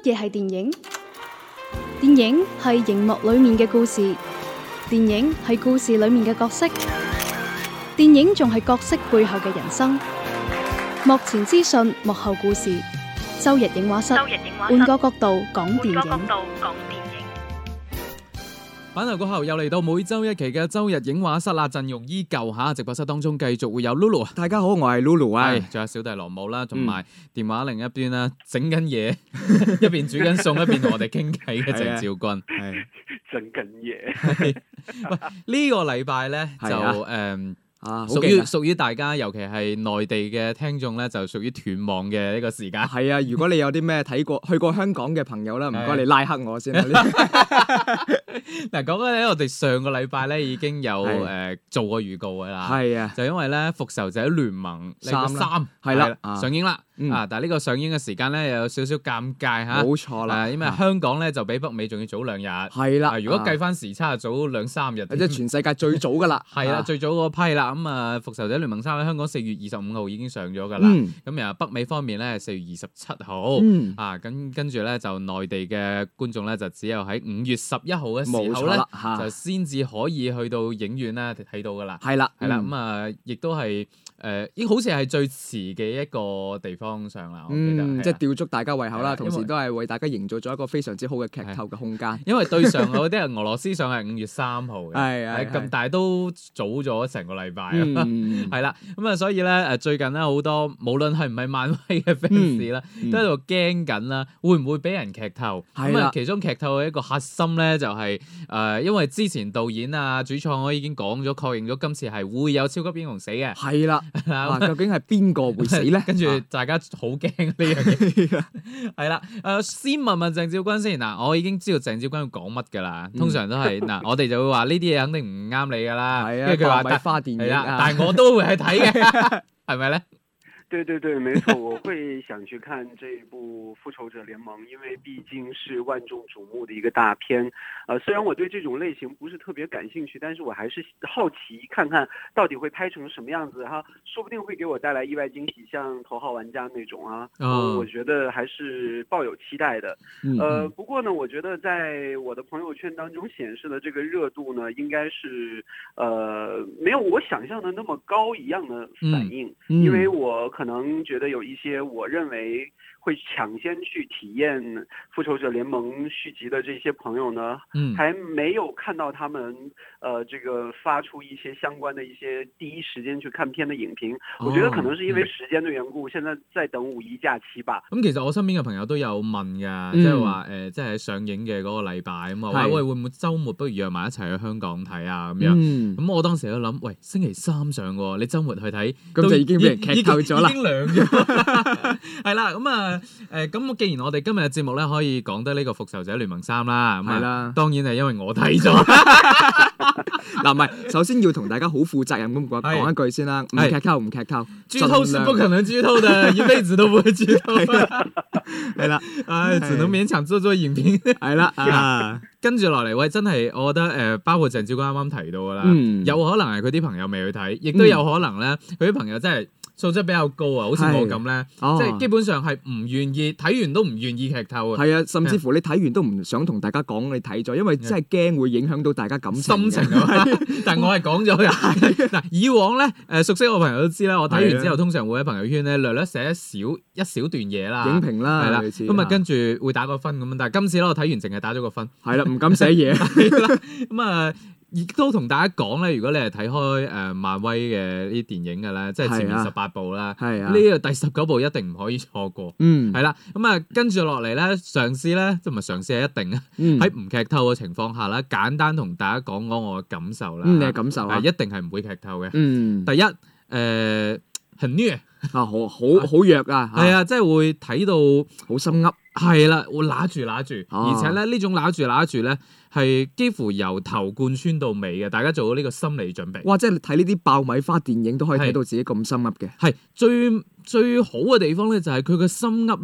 嘢係電影？電影係熒幕裏面嘅故事，電影係故事裏面嘅角色，電影仲係角色背後嘅人生。幕前資訊，幕後故事。周日映畫室，換個角度講電影。 返頭過後又嚟到每周一期嘅周日映畫室啦，陣容依舊嚇，直播室當中繼續會有 Lulu。 大家好，我係 Lulu 啊， 仲有小弟羅姆啦，同埋電話另一邊啦，整緊嘢，一邊煮緊餸，一邊同我哋傾偈嘅鄭兆君。 係整緊嘢。 喂，呢個禮拜咧就屬於大家，尤其係內地嘅聽眾咧，就屬於斷網嘅呢個時間。 係啊，如果你有啲咩去過香港嘅朋友啦，唔該你拉黑我先啦。 嗱，講緊咧，我哋上個禮拜咧已經有做過預告㗎啦。係啊，就因為咧《復仇者聯盟》3係啦上映啦。但係呢個上映嘅時間咧又有少少尷尬嚇。冇錯啦，因為香港咧就比北美仲要早2日。係啦，如果計翻時差，早2-3日。即係全世界最早㗎啦。係啦，最早嗰批啦。咁啊，《復仇者聯盟3》喺香港4月25號已經上咗㗎啦。咁然後北美方面咧4月27號。跟住咧就內地嘅觀眾咧就只有喺5月11號嘅時候咧就先至可以去到影院咧睇到㗎啦。係啦，咁啊，亦都係好似係最遲嘅一個地方上啦。我記得即係吊足大家胃口啦，同時都係為大家營造咗一個非常之好嘅劇透嘅空間。 因為對上嗰啲係俄羅斯上係5月3號嘅，咁但係都早咗成個禮拜。係啦，咁啊，所以咧最近咧好多無論係唔係漫威嘅 fans 啦，都喺度驚緊啦，會唔會俾人劇透？咁啊，其中劇透嘅一個核心咧就係因為之前導演啊、主創我已經講咗，確認咗今次係會有超級英雄死嘅。係啦， 究竟係邊個會死咧？ 跟住大家好驚呢樣嘢。係啦，先問問鄭兆君先。嗱，我已經知道鄭兆君要講乜㗎啦。通常都係嗱，我哋就會話呢啲嘢肯定唔啱你㗎啦。係啊，跟住佢話爆米花電影但係我都會去睇嘅，係咪咧？ 對，沒錯，我會想去看這一部《復仇者聯盟》，因為畢竟是萬眾矚目的一個大片。雖然我對這種類型不是特別感興趣，但是我還是好奇看看到底會拍成什麼樣子哈，說不定會給我帶來意外驚喜，像《頭號玩家》那種啊。我覺得還是抱有期待的。不過呢，我覺得在我的朋友圈當中顯示的這個熱度呢，應該是沒有我想象的那麼高一樣的反應，因為我可能覺得有一些我認為會搶先去體驗《復仇者聯盟》續集的這些朋友呢，還沒有看到他們這個發出一些相關的一些第一時間去看片的影評。我覺得可能是因為時間的緣故，現在在等五一假期吧。 咁其實我身邊嘅朋友都有問㗎，即係話即係上映嘅嗰個禮拜咁啊，喂，會唔會週末不如約埋一齊去香港睇啊？咁樣咁我當時都諗，喂，星期3上喎，你週末去睇，咁就已經俾人劇透咗啦，已經涼咗。係啦，咁啊咁既然我哋今日嘅節目咧可以講得呢個《復仇者聯盟3》啦，咁啊當然係因為我睇咗。 嗱，唔係，首先要同大家好負責任咁講一句先啦，唔劇透， 劇透是不可能劇透的，一輩子都不會劇透。 係啦， 只能勉強做影評。係啦，跟住落嚟，喂，真係我覺得包括鄭兆君啱啱提到噶啦，有可能係佢啲朋友未去睇，亦都有可能咧，佢啲朋友真係素質比較高啊，好似我咁咧，即係基本上係唔願意睇完都唔願意劇透啊。係啊， 甚至乎你睇完都唔想同大家講你睇咗，因為真係驚會影響到大家感情心情啊。但我係講咗嘅。嗱，以往咧熟悉我朋友都知啦，我睇完之後通常會喺朋友圈咧略寫一小段嘢啦， 影評啦， 係啦，咁啊跟住會打個分咁樣。但係今次咧我睇完淨係打咗個分， 係啦，唔敢寫嘢。 咁啊。亦都同大家講咧，如果你係睇開漫威嘅呢啲電影嘅咧，即係前面18部啦，呢個第19部一定唔可以錯過。係啦，咁啊跟住落嚟咧，嘗試咧，即係唔係嘗試係一定啊，喺唔劇透嘅情況下咧，簡單同大家講我嘅感受啦。 你嘅感受啊？ 一定係唔會劇透嘅。第一，很虐啊，好弱啊， 係啊，即係會睇到好心噏。 係啦，會揦住，而且咧呢種揦住咧係幾乎由頭貫穿到尾嘅，大家做好呢個心理準備。 哇！即係睇呢啲爆米花電影都可以睇到自己咁心噏嘅。 係最好嘅地方咧，就係佢嘅心噏咧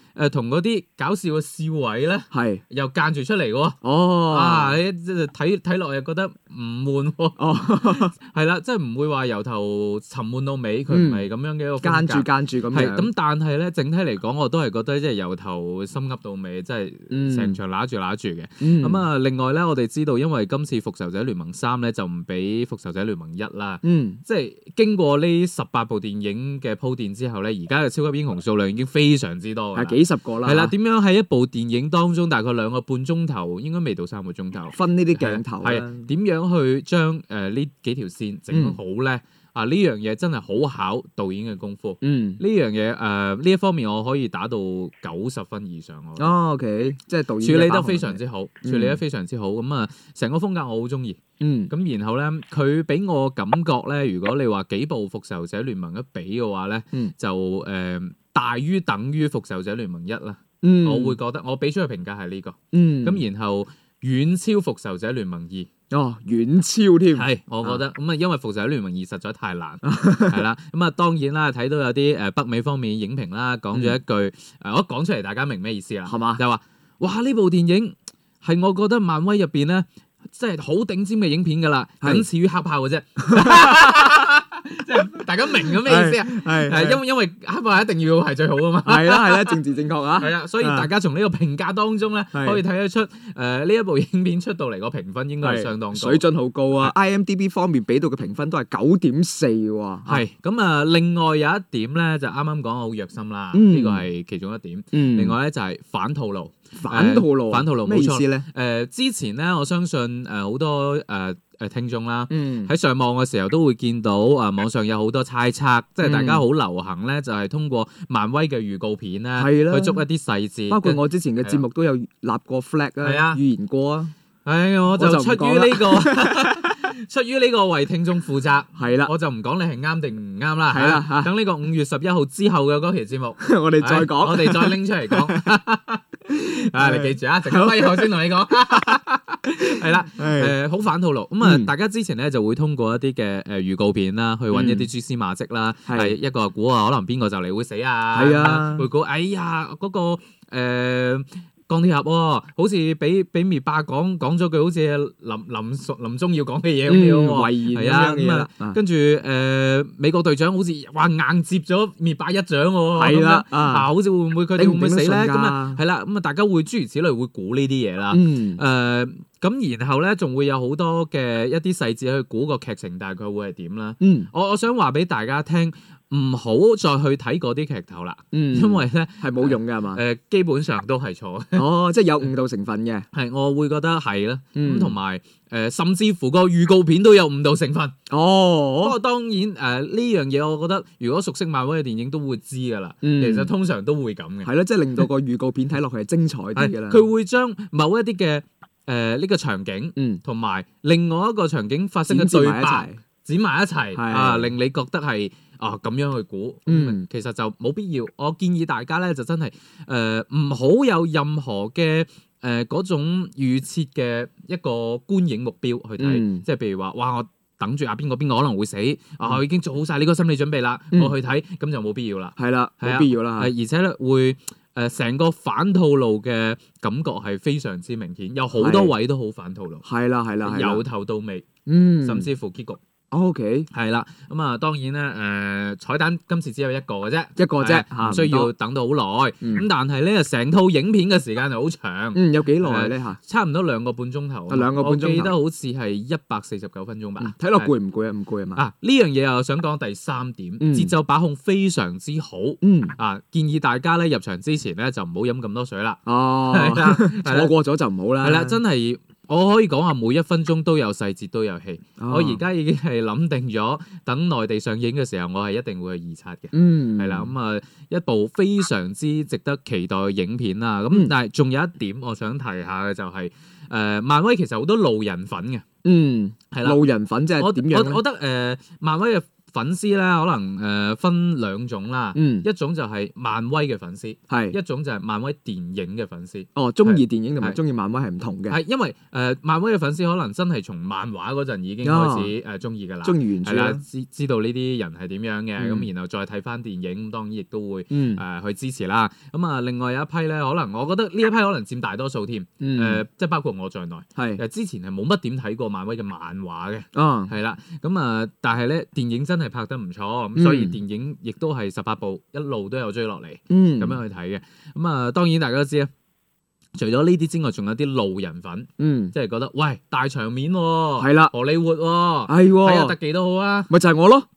同嗰啲搞笑嘅笑位咧， 係又間住出嚟喎。你睇落又覺得唔悶喎。係啦，即係唔會話由頭沉悶到尾，佢唔係咁樣嘅一個風格。間住咁樣。係咁，但係咧整體嚟講，我都係覺得即係由頭心噏到尾，即係成場揦住嘅。咁啊，另外咧，我哋知道因為今次復仇者聯盟3咧就唔比復仇者聯盟1啦。即係經過呢18部電影嘅鋪墊之後咧，而家嘅超級英雄數量已經非常之多㗎啦， 係幾十個啦。 係啦，點樣喺一部電影當中大概2個半鐘頭，應該未到3個鐘頭， 分呢啲鏡頭啦。 係點樣去將呢幾條線整好咧？呢樣嘢真係好考導演嘅功夫。呢樣嘢呢一方面我可以打到90分以上。 OK， 即係導演處理得非常之好，咁啊，成個風格我好中意。咁然後咧，佢俾我感覺咧，如果你話幾部復仇者聯盟一比嘅話咧，就大於等於復仇者聯盟1啦。我會覺得我俾出嘅評價係呢個。咁然後遠超復仇者聯盟2。 遠超添。 係，我覺得咁啊，因為復仇者聯盟2實在太難，係啦。咁啊，當然啦，睇到有啲北美方面影評啦，講咗一句，我講出嚟大家明咩意思啦？係嘛？就話哇，呢部電影係我覺得漫威入邊咧，即係好頂尖嘅影片㗎啦，僅次於黑豹嘅啫。即係大家明咗咩意思啊？係因為黑豹一定要係最好啊嘛。係啦，政治正確啊。 係啊，所以大家從呢個評價當中咧，可以睇得出呢一部影片出到嚟個評分應該係相當高， 水準好高啊。IMDB 方面俾到嘅評分都係9.4喎。 係咁啊，另外有一點咧就啱啱講好虐心啦，呢個係其中一點。另外咧就係反套路。反套路咩意思咧？之前咧，我相信好多聽眾啦，喺上網嘅時候都會見到網上有好多猜測，即係大家好流行咧，就係通過漫威嘅預告片咧，去捉一啲細節。 包括我之前嘅節目都有立過 flag 啊，預言過啊。 我就出於呢個為聽眾負責，係啦，我就唔講你係啱定唔啱啦。係啦，等呢個5月11號之後嘅嗰期節目， 我哋再講， 我哋再拎出嚟講。你記住啊，陣間翻後先同你講。係啦，好反套路。咁啊，大家之前咧就會通過一啲嘅預告片啦，去揾一啲蛛絲馬跡啦，係一個估可能邊個就嚟會死啊，係啊，會估嗰個鋼鐵俠喎，好似俾滅霸講咗句好似臨終要講嘅嘢咁樣喎，遺言咁樣嘅。跟住美國隊長好似話硬接咗滅霸一掌喎，係啦，好似會唔會佢哋會唔會死咧？咁啊係啦，咁啊大家會諸如此類會估呢啲嘢啦。咁然後咧仲會有好多嘅一啲細節去估個劇情大概會係點啦。我想話俾大家聽。唔好再去睇嗰啲劇頭啦，因為咧係冇用嘅係嘛？ 基本上都係錯。 即係有誤導成分嘅。 係，我會覺得係啦。咁同埋甚至乎個預告片都有誤導成分。不過當然呢樣嘢，我覺得如果熟悉漫威嘅電影都會知㗎啦。其實通常都會咁嘅。係咯，即係令到個預告片睇落去係精彩啲嘅啦。佢會將某一啲嘅呢個場景，同埋另外一個場景發生嘅對白剪埋一齊，令你覺得係。咁樣去估，其實就冇必要。我建議大家咧就真係唔好有任何嘅嗰種預設嘅一個觀影目標去睇，即係譬如話，哇！我等住邊個可能會死，我已經做好晒呢個心理準備啦，我去睇，咁就冇必要啦。係啦，冇必要啦。而且咧會成個反套路嘅感覺係非常之明顯，有好多位都好反套路。係啦，由頭到尾，甚至乎結局。OK， 係啦，咁啊當然咧，彩蛋今次只有一個嘅啫，唔需要等到好耐。咁但係咧，成套影片嘅時間就好長。有幾耐咧？差唔多2個半鐘頭。2個半鐘頭，我記得好似係149分鐘吧。睇落攰唔攰啊？唔攰啊嘛。呢樣嘢又想講第3點，節奏把控非常之好。建議大家咧入場之前咧就唔好飲咁多水啦。錯過咗就唔好啦。係啦，真係。我可以講話每1分鐘都有細節都有戲。我而家已經係諗定咗，等內地上映嘅時候，我係一定會去二刷嘅。係啦，咁一部非常之值得期待嘅影片啦。咁但係仲有一點我想提下嘅就係，漫威其實好多路人粉嘅。係啦，路人粉即係點樣咧？我覺得漫威嘅粉絲咧可能分兩種啦，一種就係漫威嘅粉絲，一種就係漫威電影嘅粉絲。 哦，中意電影同埋中意漫威係唔同嘅。 係因為漫威嘅粉絲可能真係從漫畫嗰陣已經開始中意㗎啦， 中意原著啦， 知道呢啲人係點樣嘅，咁然後再睇翻電影，咁當然亦都會去支持啦。咁啊，另外有一批咧，可能我覺得呢一批可能佔大多數添，即係包括我在內，之前係冇乜點睇過漫威嘅漫畫嘅，係啦，咁啊，但係咧電影真係拍得唔錯，咁所以電影亦都係18部一路都有追落嚟，咁樣去睇嘅。咁啊，當然大家都知啦，除咗呢啲之外，仲有啲路人粉，即係覺得喂大場面喎，係啦，荷里活喎，睇下特技都好啊， 咪就係我咯。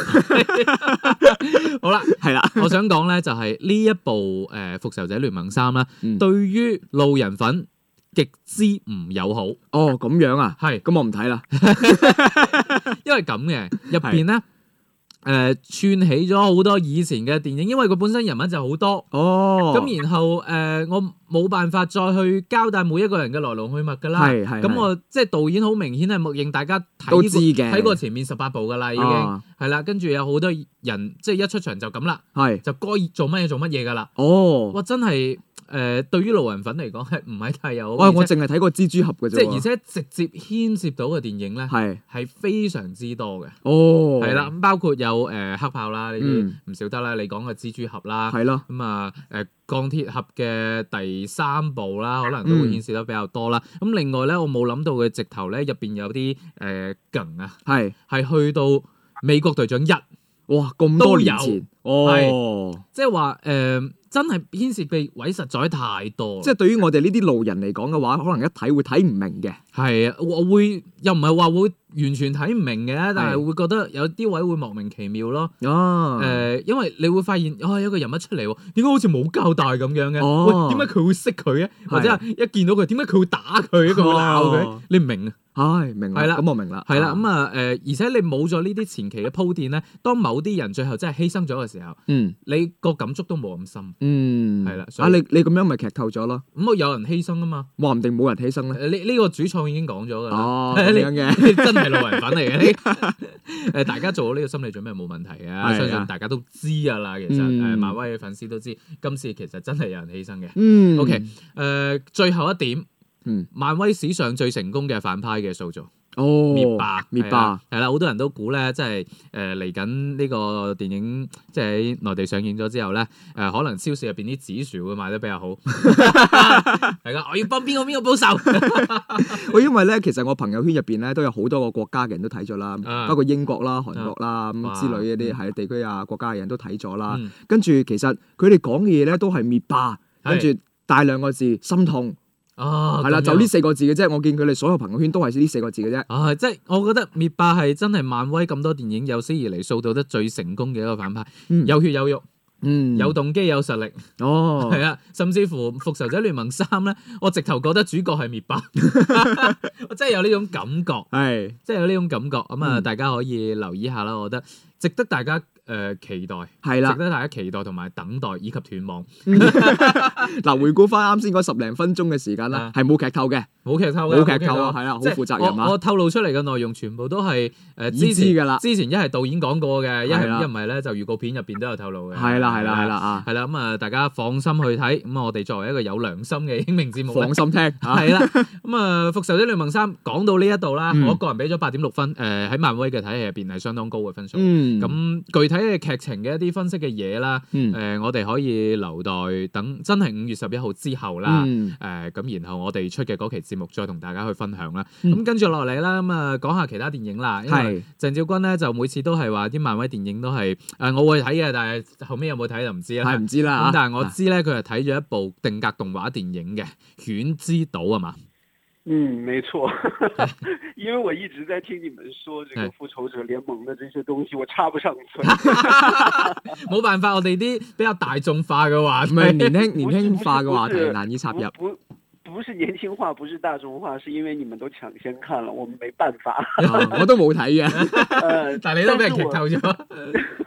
好啦，係啦，我想講咧就係呢一部復仇者聯盟3啦，對於路人粉極之唔友好。 哦，咁樣啊？係，咁我唔睇啦。 因為咁嘅入邊咧，串起咗好多以前嘅電影，因為佢本身人物就好多。哦。咁然後我冇辦法再去交代每一個人嘅來龍去脈㗎啦。係。咁我即係導演好明顯係默認大家睇過前面18部㗎啦，已經係啦。跟住有好多人即係一出場就咁啦，就該做乜嘢做乜嘢㗎啦。哦。哇！真係〜對於路人粉嚟講係唔係太有？ 我淨係睇過蜘蛛俠嘅啫。 即係而且直接牽涉到嘅電影咧，係非常之多嘅。 哦， 係啦，咁包括有黑豹啦，呢啲唔少得啦。你講嘅蜘蛛俠啦，係咯。咁啊鋼鐵俠嘅第3部啦，可能都會牽涉得比較多啦。咁另外咧，我冇諗到嘅直頭咧，入邊有啲梗啊，係去到美國隊長1， 哇咁多年前， 即係話真係牽涉嘅位實在太多， 即係對於我哋呢啲路人嚟講嘅話，可能一睇會睇唔明嘅。 係啊，我會又唔係話會完全睇唔明嘅，但係會覺得有啲位會莫名其妙咯。哦，因為你會發現有個人物出嚟喎，點解好似冇交代咁樣嘅？喂，點解佢會識佢嘅？或者係一見到佢，點解佢會打佢？佢會鬧佢？你唔明啊？ 唉，明啦，咁我明啦。 係啦，咁啊而且你冇咗呢啲前期嘅鋪墊咧，當某啲人最後真係犧牲咗嘅時候，你個感觸都冇咁深。係啦。 你咁樣咪劇透咗咯？ 咁有人犧牲啊嘛， 話唔定冇人犧牲咧。 呢個主創已經講咗㗎啦。 哦，咁樣嘅， 你真係路人粉嚟嘅。大家做好呢個心理準備冇問題嘅，相信大家都知㗎啦。其實漫威嘅粉絲都知，今次其實真係有人犧牲嘅。OK，最後一點。漫威史上最成功嘅反派嘅塑造，滅霸係啦，好多人都估咧，即係嚟緊呢個電影即係喺內地上映咗之後咧，可能超市入邊啲紫薯會賣得比較好。係噶，我要幫邊個報仇。 因為咧，其實我朋友圈入邊咧都有好多個國家嘅人都睇咗啦，包括英國啦、韓國啦咁之類嗰啲係地區啊國家嘅人都睇咗啦。跟住其實佢哋講嘅嘢咧都係滅霸，跟住帶2個字心痛。係啦，就呢4個字嘅啫。我見佢哋所有朋友圈都係呢4個字嘅啫。 即係我覺得滅霸係真係漫威咁多電影有史以嚟塑造得最成功嘅一個反派，有血有肉，有動機有實力。係啊，甚至乎復仇者聯盟3咧，我直頭覺得主角係滅霸，我真係有呢種感覺，係，即係有呢種感覺。咁啊，大家可以留意下啦，我覺得值得大家期待，係啦，值得大家期待同埋等待以及斷網。 嗱，回顧翻啱先嗰10零分鐘嘅時間啦，係冇劇透嘅， 冇劇透啊，係啦，好負責任啊！ 我透露出嚟嘅內容全部都係已知㗎啦。 之前一係導演講過嘅，一唔係咧就預告片入邊都有透露嘅。係啦啊，係啦，咁啊，大家放心去睇。咁我哋作為一個有良心嘅影評節目， 放心聽。 係啦，咁啊，復仇者聯盟3講到呢一度啦，我個人俾咗8.6分。喺漫威嘅體系入邊係相當高嘅分數。咁具體嘅劇情嘅一啲分析嘅嘢啦，我哋可以留待等真係5月11號之後啦，咁然後我哋出嘅嗰期節目再同大家去分享啦。咁跟住落嚟啦，咁啊講下其他電影啦。因為鄭少君咧就每次都係話啲漫威電影都係我會睇嘅，但係後尾有冇睇就唔知啦。係唔知啦。咁但係我知咧，佢係睇咗一部定格動畫電影嘅《犬之島》係嘛？ 沒錯，因為我一直在聽你們說這個復仇者聯盟的這些東西，我插不上嘴。 冇辦法，我哋啲比較大眾化嘅話題， 年輕化嘅話題難以插入。 不是年輕化，不是大眾化，是因為你們都搶先看了，我們沒辦法。 我都冇睇嘅， 但係你都俾人劇透咗。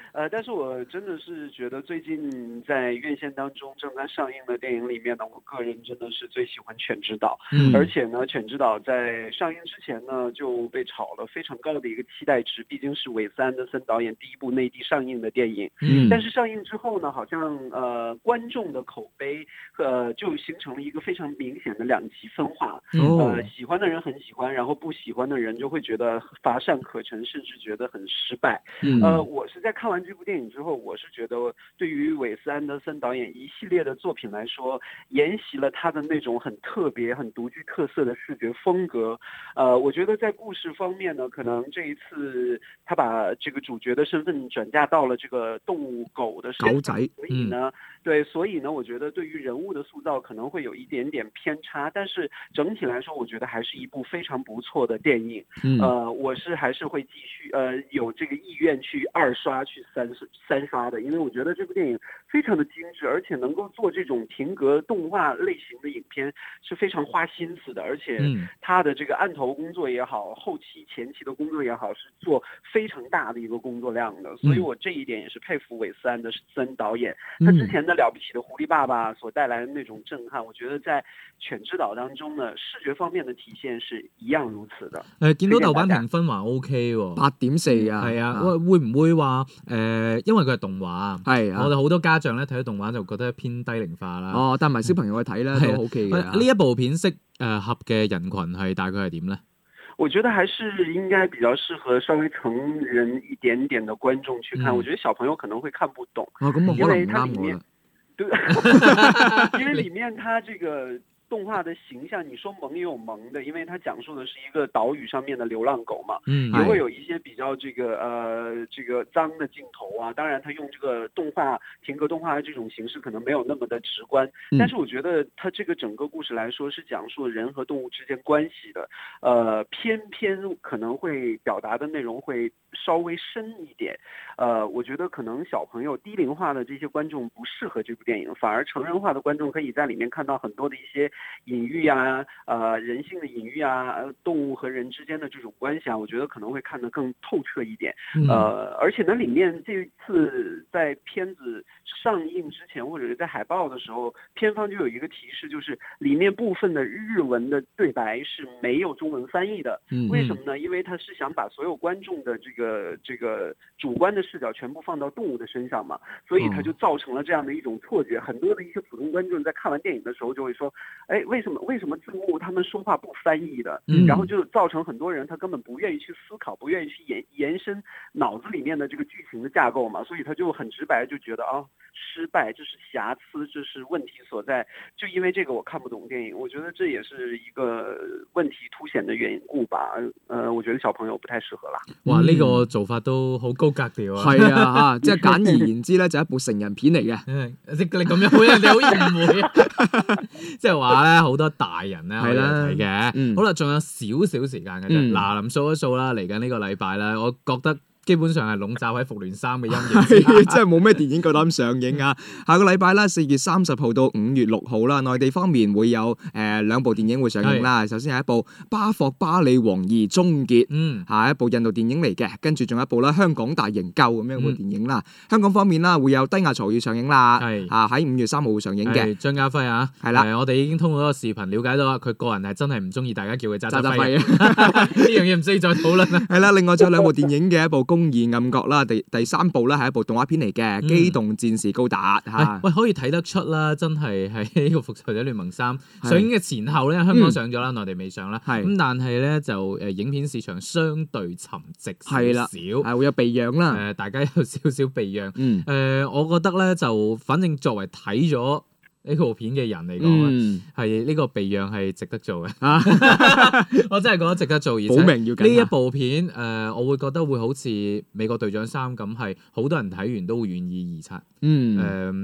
但是我真的是觉得最近在院线当中正在上映的电影里面呢，我个人真的是最喜欢《犬之岛》，而且呢，《犬之岛》在上映之前呢就被炒了非常高的一个期待值，毕竟是韦斯安德森导演第一部内地上映的电影。但是上映之后呢，好像观众的口碑就形成了一个非常明显的两极分化。喜欢的人很喜欢，然后不喜欢的人就会觉得乏善可陈，甚至觉得很失败。我是在看完这部电影之后，我是觉得对于韦斯安德森导演一系列的作品来说，沿袭了他的那种很特别、很独具特色的视觉风格。我觉得在故事方面呢，可能这一次他把这个主角的身份转嫁到了这个动物狗的身上， 狗仔， 所以呢，我觉得对于人物的塑造可能会有一点点偏差，但是整体来说，我觉得还是一部非常不错的电影。我还是会继续有这个意愿去2刷、去三刷的，因为我觉得这部电影非常的精致，而且能够做这种停格动画类型的影片是非常花心思的，而且他的这个案头工作也好，后期前期的工作也好，是做非常大的一个工作量的，所以我这一点也是佩服韦斯安德森导演。他之前的了不起的狐狸爸爸所带来的那種震撼，我覺得在《犬之島》當中呢，視覺方面的體現是一樣如此的。 見到豆瓣評分還 OK 喎 ，8.4啊。 係啊，會唔會話因為佢係動畫， 係我哋好多家長咧睇到動畫就覺得偏低齡化啦。 帶埋小朋友去睇咧都 OK 嘅。 呢一部片適合嘅人群係大概係點咧？ 我覺得還是應該比較適合稍微成人一點點的觀眾去看。我覺得小朋友可能會看不懂，因為它裡面，對，因為裡面它這個動畫的形象，你說萌也有萌的，因為它講述的是一個島嶼上面的流浪狗嘛，也會有一些比較這個髒的鏡頭啊。當然，它用這個停格動畫的這種形式可能沒有那麼的直觀，但是我覺得它這個整個故事來說是講述人和動物之間關係的，偏可能會表達的內容會稍微深一點。我覺得可能小朋友低齡化的這些觀眾不適合這部電影，反而成人化的觀眾可以在裡面看到很多的一些隱喻啊，人性的隱喻啊，動物和人之間的這種關係啊，我覺得可能會看得更透徹一點。而且呢，裡面這次在片子上映之前，或者是在海報的時候，片方就有一個提示，就是裡面部分的日文的對白是沒有中文翻譯的。為什麼呢？因為他是想把所有觀眾的這個主觀的視角全部放到動物的身上嘛，所以他就造成了這樣的一種錯覺。很多的一些普通觀眾在看完電影的時候就會說，哎，為什麼字幕他們說話不翻譯的？然後就造成很多人他根本不願意去思考，不願意去延伸腦子裡面的這個劇情的架構嘛，所以他就很直白就覺得失敗，這是瑕疵，這是問題所在。就因為這個我看不懂電影，我覺得這也是一個問題凸顯的緣故吧。我覺得小朋友不太適合啦。 哇，呢個做法都好高格調啊！ 係啊，即係簡而言之咧，就係一部成人片嚟嘅。 你咁樣會人哋好誤會啊！即係話咧，好多大人咧可以睇嘅。好啦，仲有少少時間嘅啫。嗱，臨數一數啦，嚟緊呢個禮拜咧，我覺得基本上係籠罩喺復聯3嘅陰影， 真係冇咩電影夠膽上映啊！下個禮拜啦，4月30號到5月6號啦，內地方面會有2部電影會上映啦。首先係一部《巴霍巴利王2終結》，係一部印度電影嚟嘅。跟住仲有一部啦，《香港大營救》咁樣一部電影啦。香港方面啦，會有《低壓槽》要上映啦，喺5月3號會上映嘅。 張家輝啊，係啦，我哋已經通過嗰個視頻了解到佢個人係真係唔中意大家叫佢渣渣輝，呢樣嘢唔需要再討論啦。 係啦，另外仲有2部電影嘅，一部《公義暗角》啦，第3部咧係一部動畫片嚟嘅，《機動戰士高達》嚇。 喂，可以睇得出啦，真係喺呢個《復仇者聯盟3》上映嘅前後咧，香港上咗啦，內地未上啦。咁但係咧就影片市場相對沉寂少少， 係會有避讓啦。 大家有少少避讓。我覺得咧就反正作為睇咗呢部片嘅人嚟講，係呢個避讓係值得做嘅。我真係覺得值得做，而且呢一部片我會覺得會好似美國隊長3咁，係好多人睇完都會願意二刷。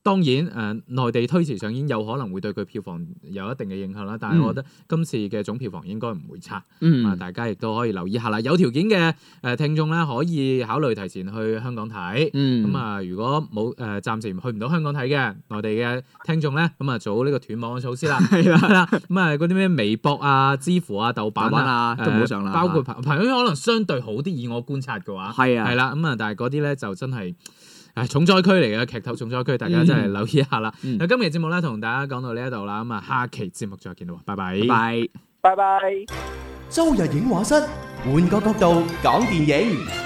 當然內地推遲上映有可能會對佢票房有一定嘅影響啦，但係我覺得今次嘅總票房應該唔會差。大家亦都可以留意下啦。有條件嘅聽眾咧，可以考慮提前去香港睇。如果冇暫時去唔到香港睇嘅內地嘅聽眾咧，咁做好呢個斷網嘅措施啦。係啦，咁嗰啲咩微博啊、知乎啊、豆瓣啊都唔好上啦。包括朋友圈可能相對好啲，以我觀察嘅話。係啦，但係嗰啲咧就真係重災區嚟嘅，劇透重災區，大家真係留意一下啦。今期節目咧同大家講到呢一度啦，下期節目再見啦，拜拜， 拜拜。 周日影畫室，換個角度講電影。